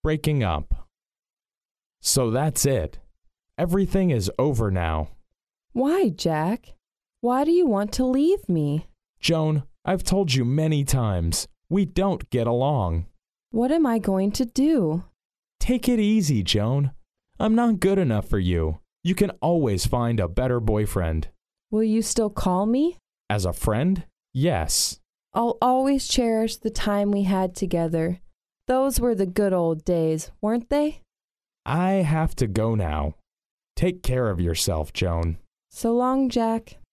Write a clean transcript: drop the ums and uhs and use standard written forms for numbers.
breaking up. So that's it. Everything is over now. Why, Jack? Why do you want to leave me? Joan, I've told you many times, we don't get along. What am I going to do? Take it easy, Joan. I'm not good enough for you. You can always find a better boyfriend. Will you still call me? As a friend? Yes. I'll always cherish the time we had together. Those were the good old days, weren't they? I have to go now. Take care of yourself, Joan. So long, Jack.